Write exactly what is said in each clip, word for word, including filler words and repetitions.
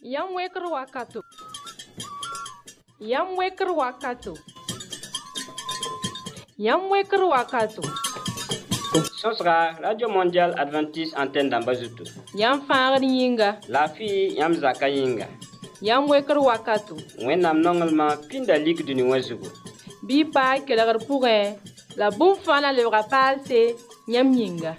Yam weker wakato. Yam weker wakato. Yam weker wakato. Sosra, Radio Mondiale Adventiste Antenne d'Ambazutu. Yam fangar yinga. La fille Yam Zaka yinga. Yam weker wakato. Wenam nongelma pinda lik du niwazugu. Bi pa kelagar pourrin. La boum fana le rapal c'est Yam yinga.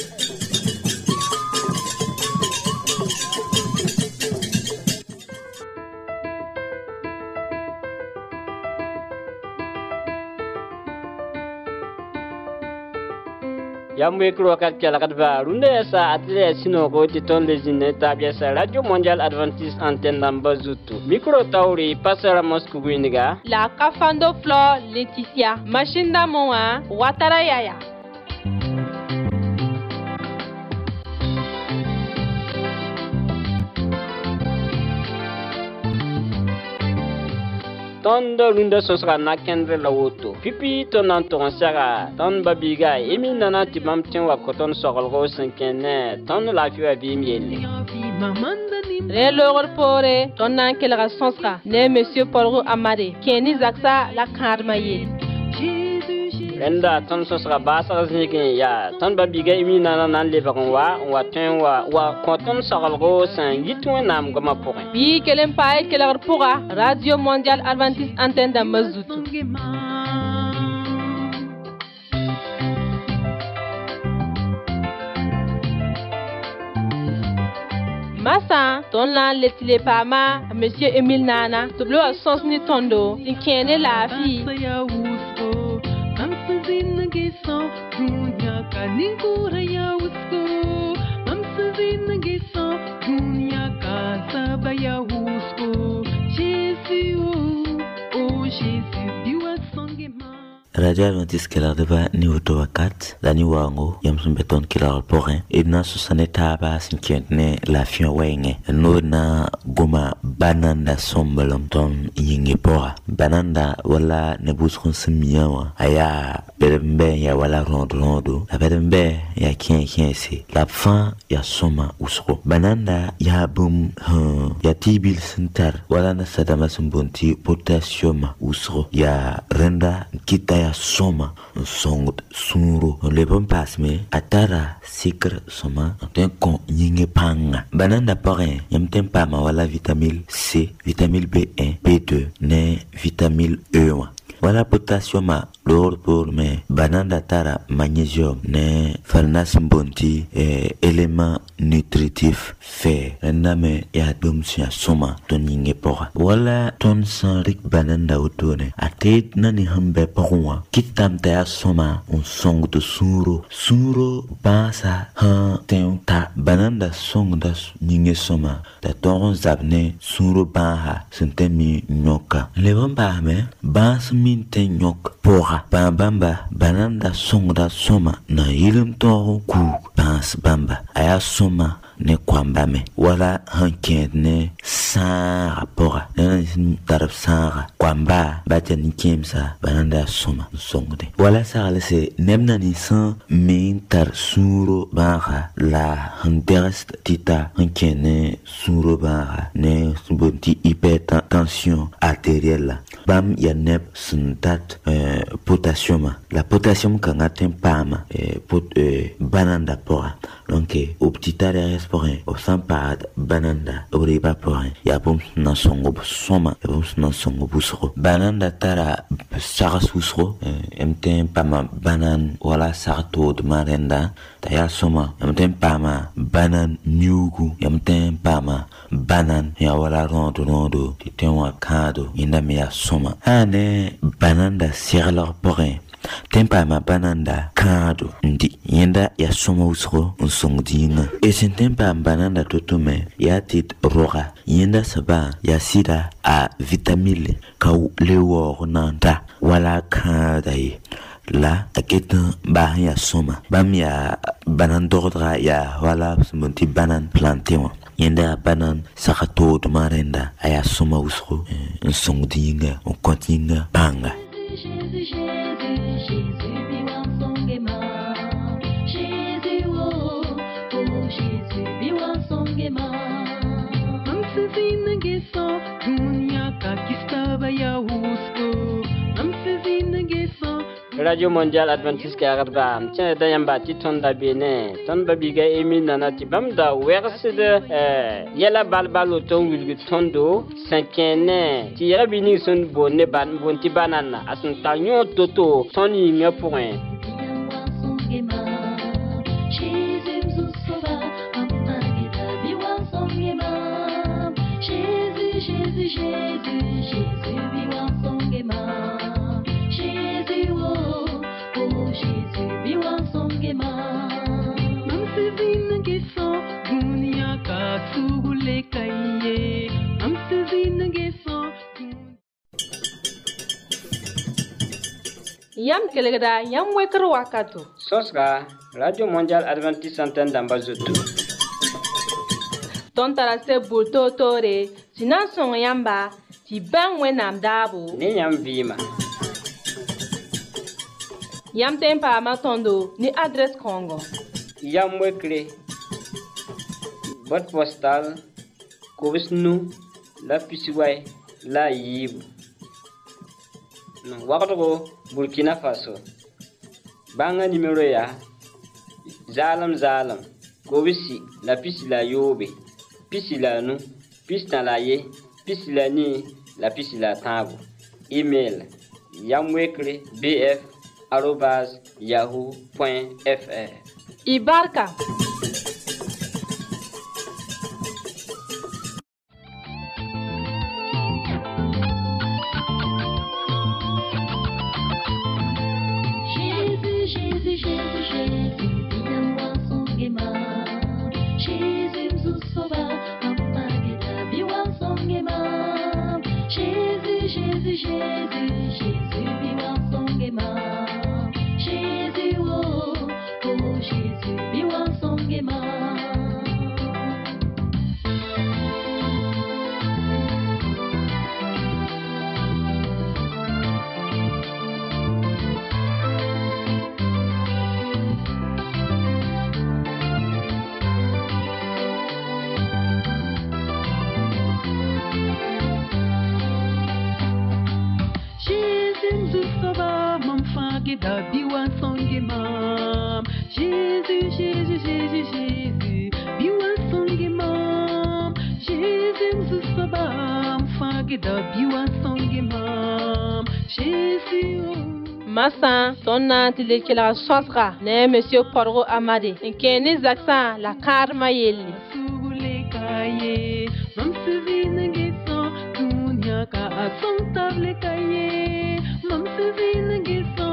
Yamwe krokat kala kadva runde sa atle sino ko titon lezine tabia sa Radio Mondiale Adventiste Antenne d'Ambazutu. Micro tauri pasara Moscou Guiniga. La Kafando Flor Laetitia. Machine d'amour Watara Yaya. Ton de lunda sosra na kendre la woto. Pipi ton anton sara. Ton babiga emi nana tibam tien wa koton sorolgo senkene. Ton la fiwa vi miele. Re logor pore ton nan kelga sonsra. Ne monsieur Paul Amade. Kenny Zaksa la karmaye. Renda ton sosra basa znikin ya. Ton babiga emi nana nan lebaron wa. Wa ten wa wa koton sorolgo sen yitwen nam goma pore. Bi kelen pae kelgar pora. Radio Mondiale Adventiste Antenne d'Ambazutu. Massa, ton lan letile pama, Monsieur Emile Nana, toblo a sens ni tondo, tin kene la fi. Radio Adventiste kelar deba ni woto wakat la ni wango yam sun beton kelar porin edna susane taba sinkentne la fion wenge no na goma bananda sombalom ton yinge pora bananda wala ne buskun simiyawa aya berembe ya wala rondo rondo la berembe ya kien kien si la fin ya soma usro bananda ya bum huh, ya tibil sentar wala na sadama sumbonti potassium usro ya renda kita ya soma songot sunro le bon pasme atara sikr soma ten kon yinge panga bananda parin yam tempa ma wala vitamine C vitamine B un B deux ne vitamine E un wala potassium l'or pour me bananda tara magnésium ne farnas bonti eh, élément nutritif fer ndame ya dum sia soma ton yinge pora wala ton sanrik bananda otone atet nani hambe porwa kitam ta soma on song de suro suro basa ha tenta bananda song da yinge soma da ton zabne suro baha sentemi nyoka lebamba me bas min te nyok pora bamba bananda song da soma na yilum to ku bas bamba aya soma ne kwambame wala hanken ne sa rapora ne taraf sa kwamba bata ni kemsa bananda soma songde wala sa lese nemna ni san min tar suro baha la hanterest tita hanken ne suro baha ne subonti hypertension artérielle bam ya nep suntat euh, potassium la potassium kanga tempama euh, pot euh, bananda pora donc au petit arrêt porin o sampad bananda o riba porin ya bom na songo soma ya bom na songo busro bananda tara saras usro emtem pama banan wala sarto de marenda ta ya soma emtem pama banan nyugu emtem pama banan ya wala rondo rondo ti tenwa kado inda me ya soma ane bananda sirlor porin tempa ma bananda kado ndi yenda ya soma usro nsongdinga esin tempa bananda totume ya tit roga yenda saba ya sida a vitamine ka lewo nanta wala kadai la aketa ba ya soma bam ya banan dordra ya wala monti banan plantewa yenda banan sakato de marenda aya soma usro nsongdinga on continue banga Jésus, Radio Mondial Adventiste Carabam, tiens, d'ayamba, titon d'abene, ton babiga emi nanati bamda, werse de, yala balbalo ton wilgu tondo, cinquaine, tira bini son bonne ban, bonti banana, asun tanyon toto, ton yinga point. Jésus, Jésus, Jésus, biwa songema. Jésus, oh, oh, Jésus, biwa songema. Mamsizina geso, dunia ka sugule kaiye. Mamsizina geso. Yam kelegda, yam wekro wakato. Sosra, Radio Mondial Adventiste Antenne d'Ambazoto. Ton tarase bulto tore, sinan son yamba, ti bang wenam dabo. Ni yam vima. Yam tempa matondo, ni adres Congo. Yam wekre. Boîte postale, Kovisnu, la Pisiway, la Yibu. Wakatogo, Burkina Faso. Banga numéro ya. Zalam Zalam, Kovisi, la Pisi la Yobe. Pisi la nu, pisi na la ye, pisi la ni, la pisi la tabu. Email yamwekre bf arobase yahoo point fr. Ibarka. Jésus, Jésus, Jésus, Jésus, viens-moi son gaiement. Jésus, nous sauva, Amageda, biwa songema. Jésus, Jésus, Jésus, Jésus, biwa songema. Jésus, oh, oh, Jésus, biwa songema. Da biwa songema. Jésus, Jésus, Jésus, Jésus, biwa songema. Jésus, Zusaba, mfageda biwa songema. Jésus, Massa, ton nanti la sosra, ne monsieur Porgo Amade, nkeni zaksa la karma yeli. Sugule kaye, mam suvine geso, dunya ka asong table kaye, mam suvine geso.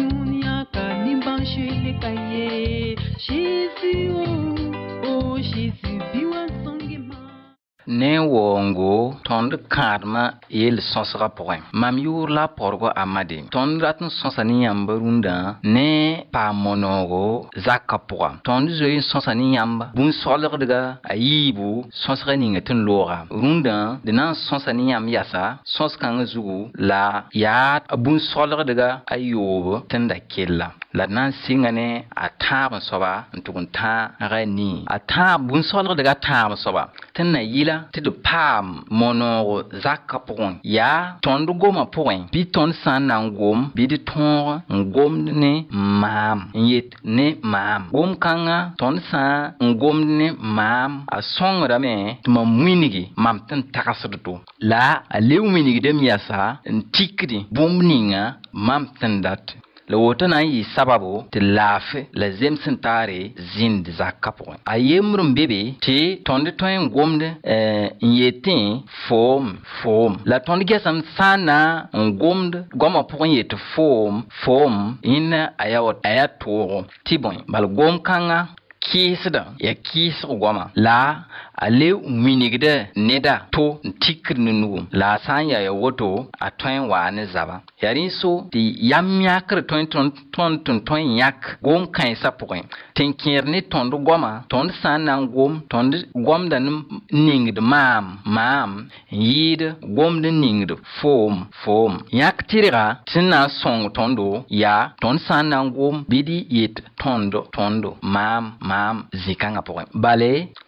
Jésus, oh, oh, Jésus, biwa songema. Ne wongo tond karma yel sonsra point mam yur la porgo amade tond ratn sonsani yamba runda ne pa monogo zakka point tond zoy sonsani yamba bun solgdga ayibu sonsra ninga tin lora runda de nan sonsani yam yasa sonskang zugu la ya bun solgdga ayobo tenda kella la nan singane a tab soba ntukun ta rani a tab bun solgdga tab soba tenna yila ti de pam mono zakka point ya tondu goma point bi ton san nan gom bi di ton ngom ne mam yet ne mam gom kanga ton san ngom ne mam a songra me tuma mwinigi mam tan takasdo la a lew minigi dem yasa ntikri bomninga mam tan dat le wotana yi sababu te lafe la zemsen tare zind zakapon ayemrum bebe te tonde toyen gomde eh yetin form form la tonde gesam sana ngomde goma pon yet form form ina ayawot ayatoro tibon bal gom kanga kisda ya kis goma la ale winigde neda to tikr nunu la sanya ya woto a toin wa ne zaba yarin so di yamyakr toin ton ton ton toin yak gom kan sa point tenkir ni ton do goma ton san nan gom ton gom da ningd mam mam yid gom de ningd form form yak tira tinna song tondo ya ton san nan gom bidi yit tondo tondo mam mam zikanga point bale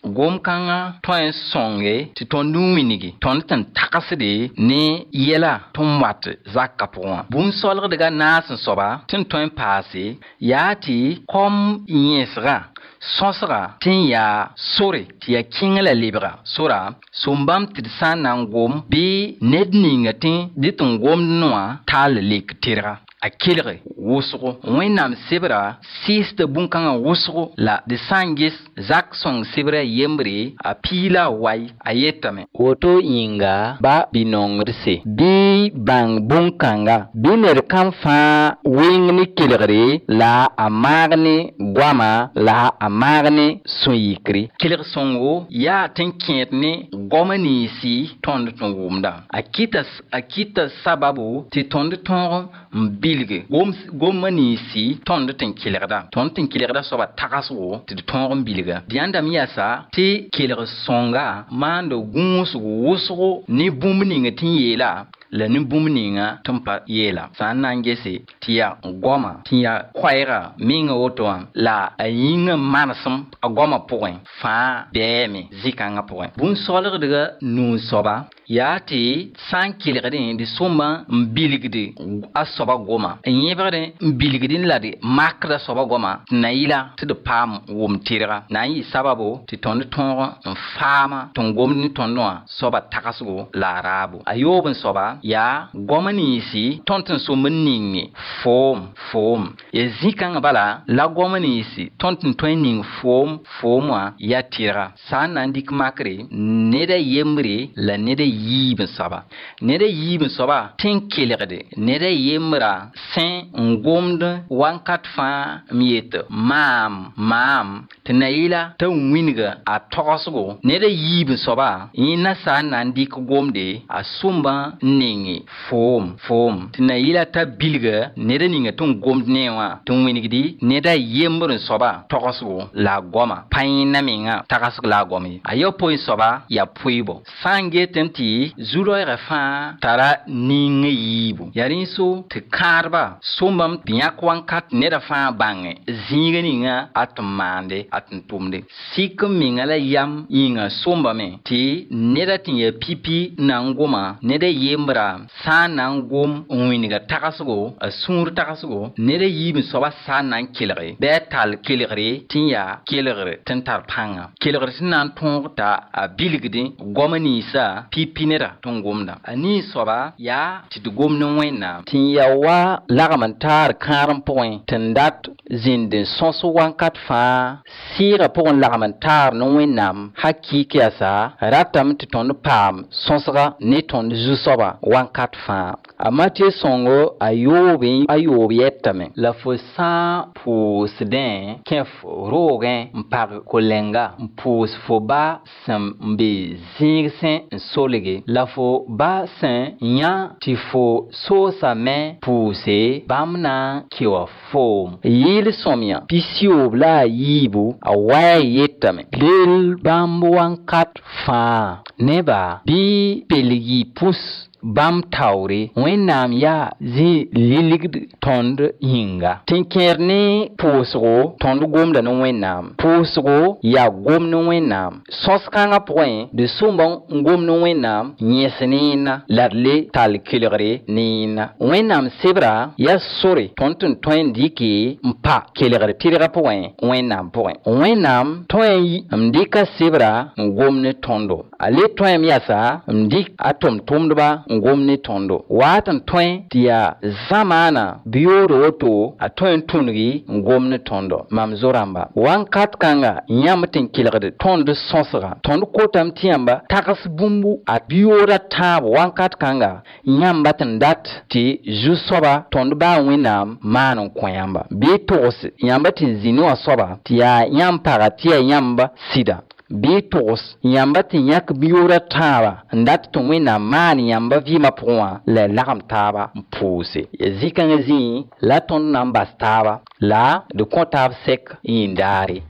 gom kanga toy songe ti ton numinigi ton tan takasde ne yela ton wat zakapon bun solre daga nas soba tin toy passé yati kom yesra sonsra tin ya sore ti ya kingla libra sora sumbam ti sanan gom bi nedninga tin ditun gom noa tal lik tira a kelre wosgo wẽnnaam sebra sɩɩsda bũn-kãngã wosgo la de sãngis zak sõng sebra yembre a piila wai a yetame woto yĩnga ba binongrse bɩ bãng bũn-kãnga bɩ ned kãm fãa wɩng ne kelgre la a maag ne goama la a maag ne sũ-yikre kelg sõngo yaa tɩn kẽed ne goma niisi tõnd tɩ wʋmda a kita a kita sababu tɩ tõnd tõog n bilge gom gom niisi tõnd tɩn kelgda tõnd tɩn kelgda soaba tagsgo tɩ d tõog n bilga d yãndame yasa tɩ kelg sõnga maanda gũusgo wʋsgo ne bũmb ning tɩ yeela la ne bũmb ninga tɩn pa yeela sã n na n gese tɩ yaa goma tɩ yaa koɛɛga minga woto wã la a yĩngã manesem a goma pʋgẽ fãa bɛɛme zĩ-kãngã pʋgẽ bũn-soalgdga nuu-soaba yaa tɩ sã n kelgdẽ dɩ sõmba n bilgde a soaba goma n yẽbgdẽ n bilgdẽ la d makda soaba goma tɩ na yɩla tɩ d paam wʋm tɩrga na n yɩ sababo tɩ tõnd tõog n faama tɩ n gomd ne tõnd wã soaba tagsgo la a raabo a yoob n soaba yaa goma niisi tõnd tɩn sõmb n ninge foom foom ya zĩ-kãngã bala la goma niisi tõnd tɩn tõe n ning foom foom wã yaa tɩrga sã n na n dɩk makre ned a yembre la ned a yiib n soaba ned a yiib n soaba tẽn kelgde ned a yembra sẽ n gomd wãnkat fãa m yet maam maam tɩ na yɩla t'a wĩnga a togsgo ned a yiib n soaba yẽnna sã n na n dɩk gomde a sʋmba n ninge foom foom tɩ na yɩla t'a bilga ned a ninga tɩ n gomd ne wã tɩ n wĩnegdi ned a yembr n soaba togsgo la a goma pa yẽnna menga tagsg la a gom ye a yao poe soaba yaa poeebo sã n get n tɩ zu-roɛɛgã fãa tara ning yiibu yaa rẽnso tɩ kãadba sõmbame tɩ yãk wãnkat neda fãa bãnge zĩiga ninga a tɩ n maande a tɩ n tʋmde sik n menga la yam yĩnga sõmbame tɩ neda tɩ yaa pipi na n goma neda yembra sã n na n gom n wĩnga tagsgo a sũur tagsgo neda yiib n soaba sã n na n kelge bɩ a tall kelgre tɩ n yaa kelgr tɩ n tar pãnga kelgr tɩ na n tõog t'a a bilgdẽ goma niisa pipi neda tɩ n gomda a nii soaba yaa tɩ d gomd n wẽnnaam tɩ n ya wa lagm n taar kãarem pʋgẽ tɩ n dat zĩnd n sõs wãnkat fãa sɩɩgã pʋgẽ lagm n taar ne wẽnnaam hakɩɩk yasa ratame tɩ tõnd paam sõsga ne tõnd zu-soaba wãnkat fãa a matɩ sõngo a yoobe a yoob yɛtame la fo sã n pʋʋsdẽ kẽ roogẽ n pag kolenga n pʋʋs fo ba sẽn n be zĩigsẽ n solge la fo ba sẽn yã tɩ fo soosame pʋʋse bãmb na n kewa foom yɩɩl sõmyã pis-yoob la a yiibu a wa yetame leel bãmb wãnkat fãa neba bɩ pelgi pʋs bãmb taoore wẽnnaam yaa zĩ lilgd tõnd yĩnga tɩ n kẽer ne pʋʋsgo tõnd gomda ne wẽnnaam pʋʋsgo yaa gom ne wẽnnaam sõs-kãngã pʋgẽ d sʋmba n gom ne wẽnnaam yẽs ne yẽnna la d le tall kelgre ne yẽnna wẽnnaam sebra yaa sore tõnd tɩ n tõe n dɩke n pa kelgd tɩrgã pʋgẽ wẽnnaam pʋgẽ wẽnnaam tõe n dɩka sebra n gom ne tõndo a le tõem yasa n dɩk a tʋm-tʋmdba n gom ne tõndo waat n tõe tɩ yaa zãmaana biyood woto a tõe n tũnigi n gom ne tõndo mam zo-rãmba wãnkat kãnga yãmb tɩ n kelgd tõnd sõsga tõnd kotame tɩ yãmba tags bũmbu a biyooda tãab wãnkat kãnga yãmba tɩ n dat tɩ zu-soaba tõnd baa wẽnnaam maan n kõ yãmba bɩ togs yãmba tɩ n zĩ ne wã soaba tɩ yaa yãmb paga tɩ yaa yãmba sɩda bɩ togs yãmba tɩ yãk biyoodã tãaba n dat tɩ wẽnnaam maan yãmba vɩɩmã pʋgẽ wã la lagem taaba n pʋʋse ya zĩ-kãngã zĩ la tõnd na n bas taaba la d kõ taab sɛk yĩndaare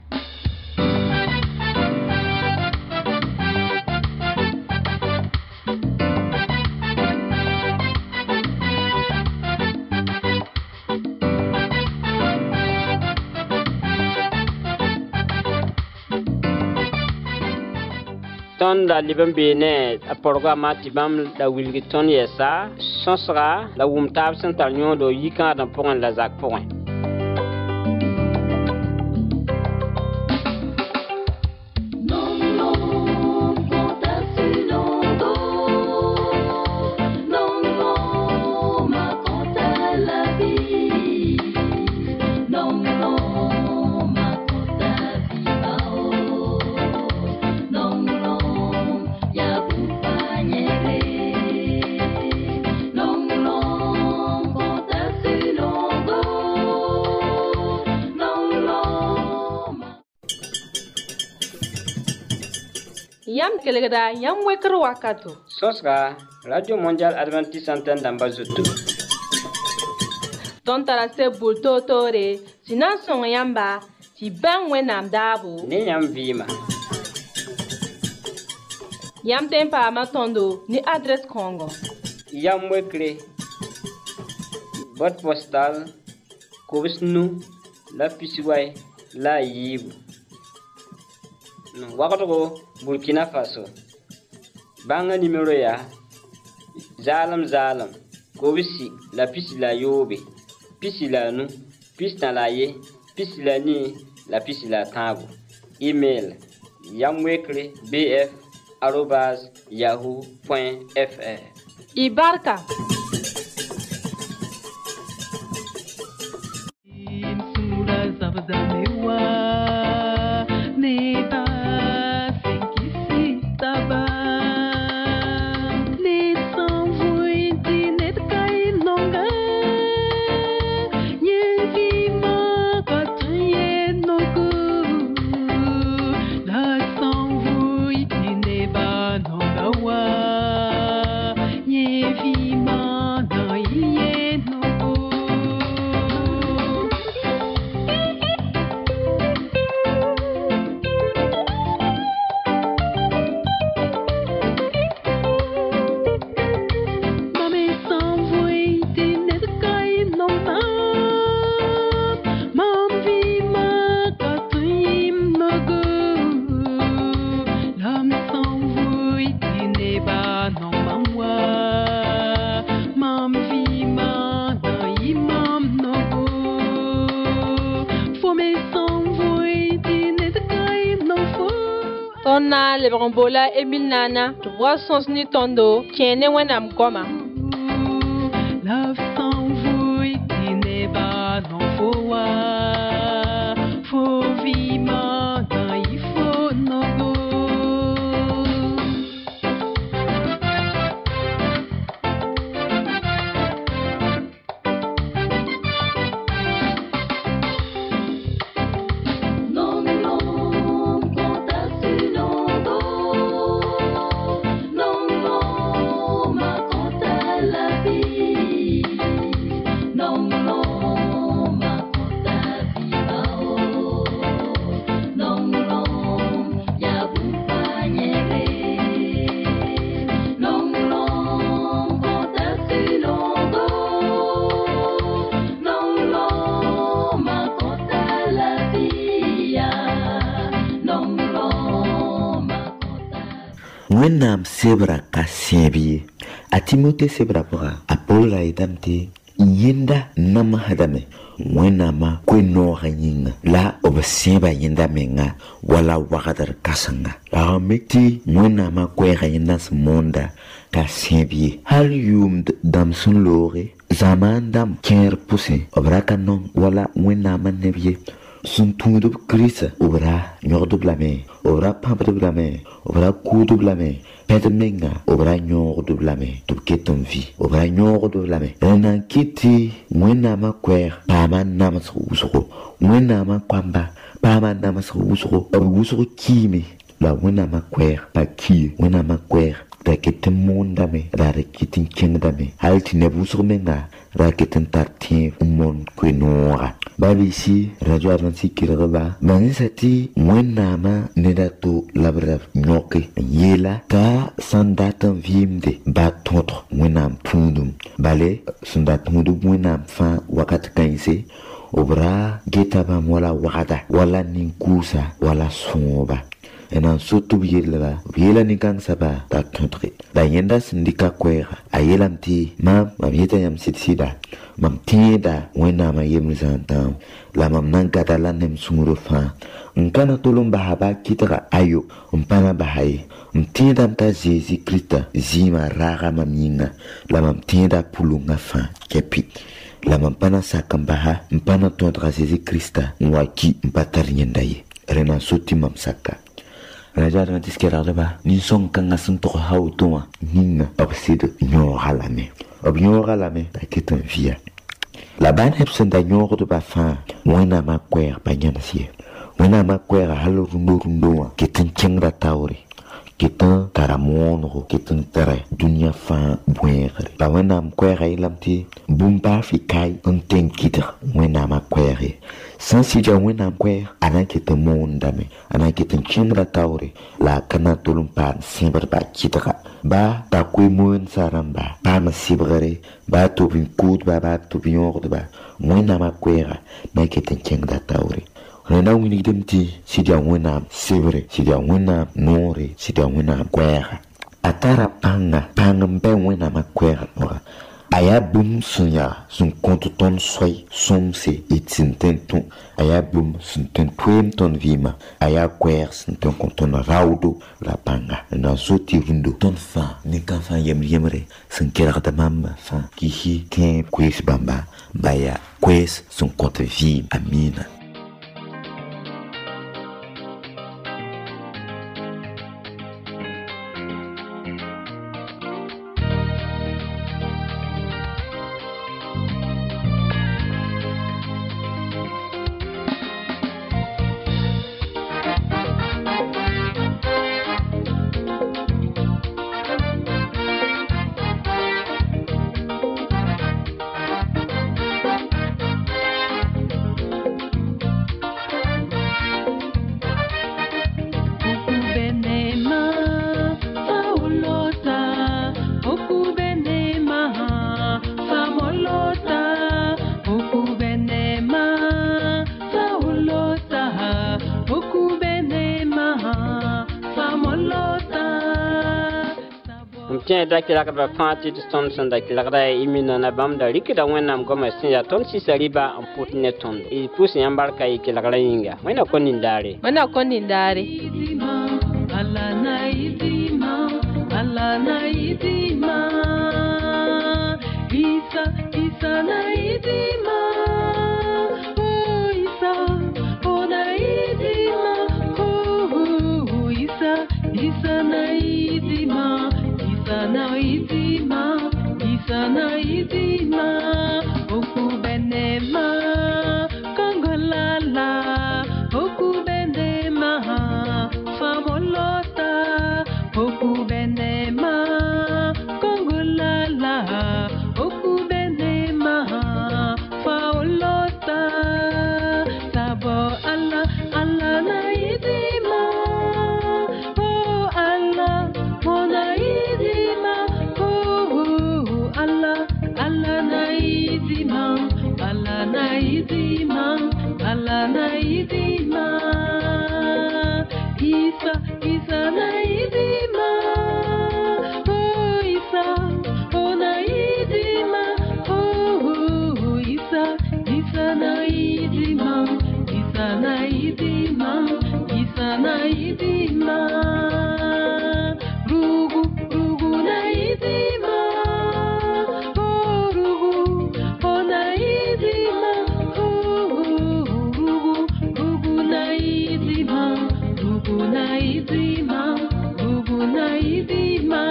ton la libam bene a porgama tibam la wilgi ton yesa sonsra la wumtab sental nyodo yika dan pon la zak pon Yam kelegda yam wekr wakato. Sosra Radio Mondial Adventiste Antenne d'Ambazoto. Ton tarase bulto tore, sinan son yamba, ti ben wenam dabu. Ne yam vima. Yam tempa ma tondo ni adresse Congo. Yam wekre. Boîte postale Kovisnu la Pisiway la Yibu. Wakato Burkina Faso. Banga numéro ya Zalam Zalam Kovisi la pisi la yobe pisi la nu pisi na la ye pisi la ni la pisi la tango. Email yamwekre bf arobase yahoo point fr. Ibarka Tonna le brombola Emile Nana, tu vois son sni tondo, tiene wenam goma. Love s'envouille, qui n'est pas non faut faut vivre, il faut no go. Wenam sebra ka sienbi a Timote sebra pora a Paula idamte yenda nama hadame wenama kweno hanyinga la obasieba yenda menga wala wakadar kasanga la mekti wenama kwe hanyenda smonda ka sienbi hal yum damsun lore zaman dam ker puse obraka non wala wenama nebye sun tungdub krisa obra nyordub lame obra pampdub lame obra kudub lame pedmenga obra nyordub lame tubketon vi obra nyordub lame renan kiti mwena ma kwer pama namas usoko mwena ma kwamba pama namas usoko usoko kimi la mwena ma kwer pa ki mwena ma kwer raketin mondame raketin kingdame halti nebusoko menga raketin tartin umon kwenora babisi radio Adventiste kiraba manisati mwenama nedato labra nyoke yela ka sandatan vimde batotro mwenam tundum bale sandatundum mwenam fa wakati kainse obra getaba wala wakada wala ninkusa wala soba en so tu yela yela ni kang saba ta country da yenda sindika kwera ayela mti mam mam yeta yam sitsida mam tieda wena ma yem zantam la mam nan katala nem sumuro fa nkana tolum bahaba kitara ayo mpana bahai mtieda mta Jésus Christ zima raga maminga la mam tieda pulunga fa kepi la mampana sakambaha mpana tondra Jésus Christ mwaki mpatar nyendaye rena soti mamsaka rajar na tiskera ba ni son kanga sunto hautoma ninna obsido nyora lame ob nyora lame ta ketan via la ban hebsen da nyora de ba fa wona ma kwer banyana sie wona ma kwer halo rundo rundo ketan chengra tauri ketan taramonro ketan tare dunia fa buere ba wona ma kwer ilamti bumba fikai onten kiter wona ma kwer sans si ja wena kwer ana ketan mondame ana ketan chengra tauri la kana tulumpan simber ba kitera ba ta kwe mon saramba ba ma sibrere ba to bin kud ba ba to bin ord ba wena ma kwera na ketan chengra tauri rena wini demti si ja wena sibre si ja wena nore si ja wena kwera atara panga panga mbe wena ma kwera ora aya bum sunya sun kontu ton soy somse itintenton aya bum sun ten twem ton vima aya kwer sun ten konton raudo la panga na soti rundo ton fa ni kan fa yem yemre sun kera da mamba fa kihi ken kwes bamba baya kwes sun kontu vim amina. Tiens, d'accord, la partie de ton son d'accord, imina na bam da rikida wenam goma sinya ton si saliba en putne ton. Il pousse yambarka iki la inga. Wena konindare. Wena konindare. Allah na idima, Allah na idima. Isa, Isa na idima. Oh Isa, oh na idima. Oh Isa, Isa na idima. Isana idima, Isana idima, oku benema, Kongolala, oku benema, famolota, oku benema, Kongolala, oku benema, faolota, sabo Allah, Allah na idima, oh Allah, mona idima. Allah, Allah naidima, Allah naidima, Allah naidima. Isa, Isa naidima. Oh Isa, oh naidima. Oh Isa, Isa naidima, Isa naidima, Isa naidima. Rugu, rugu naidima. Naidima, Gugu Naidima.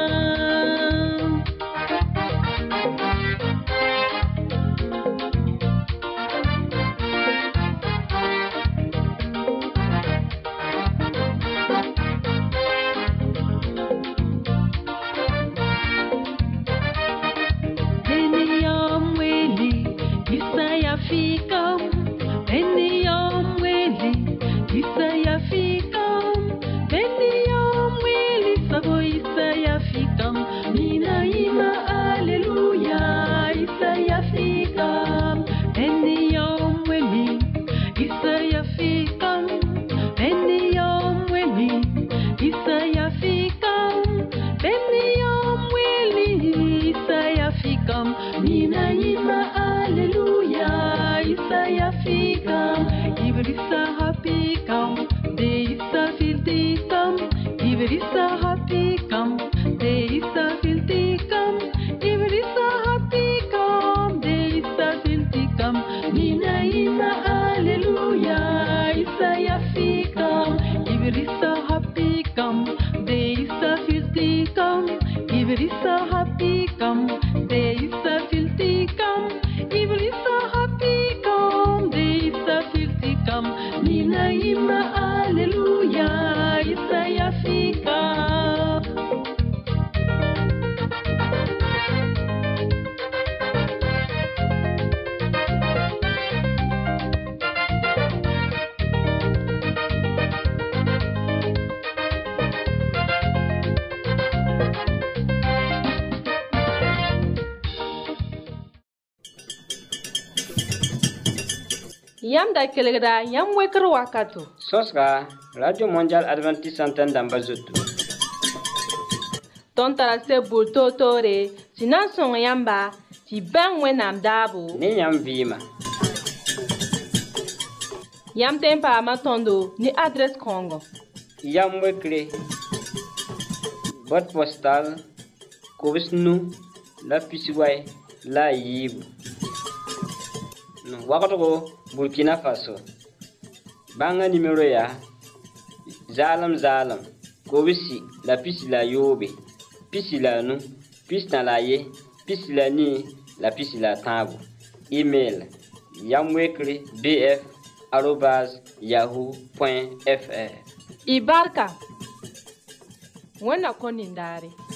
Eniyom weli, Isaya fikam. Eniyom weli, Isaya fikam. Sabo filtikam, ibrisa hapikam, deisa filtikam, ibrisa hapikam, deisa filtikam, nina ina alleluia, isa yafikam, ibrisa hapikam, deisa filtikam, ibrisa hapikam, deisa filtikam, ibrisa hapikam, deisa filtikam, nina ima alleluia, isa yafikam. Yam da kelgra yam wekr wakato. Sosra, Radio Mondial Adventiste Antenne d'Ambazout. Ton tara se bulto tore, sinan son yamba, ti bang wenam dabo. Ne yam vima. Yam tempa matondo ni adresse Congo. Yam wekre. Boîte postale, Kovisnu, la Pisiway, la Yibu. Wakato Burkina Faso. Banga numéro ya Zalam Zalam. Kobisi la pisi la yobe. Pisi la nu, pisi na la ye, pisi la ni, la pisi la tabu. Email yamwekre bf arobase yahoo point fr. Ibarka. Wena konindare.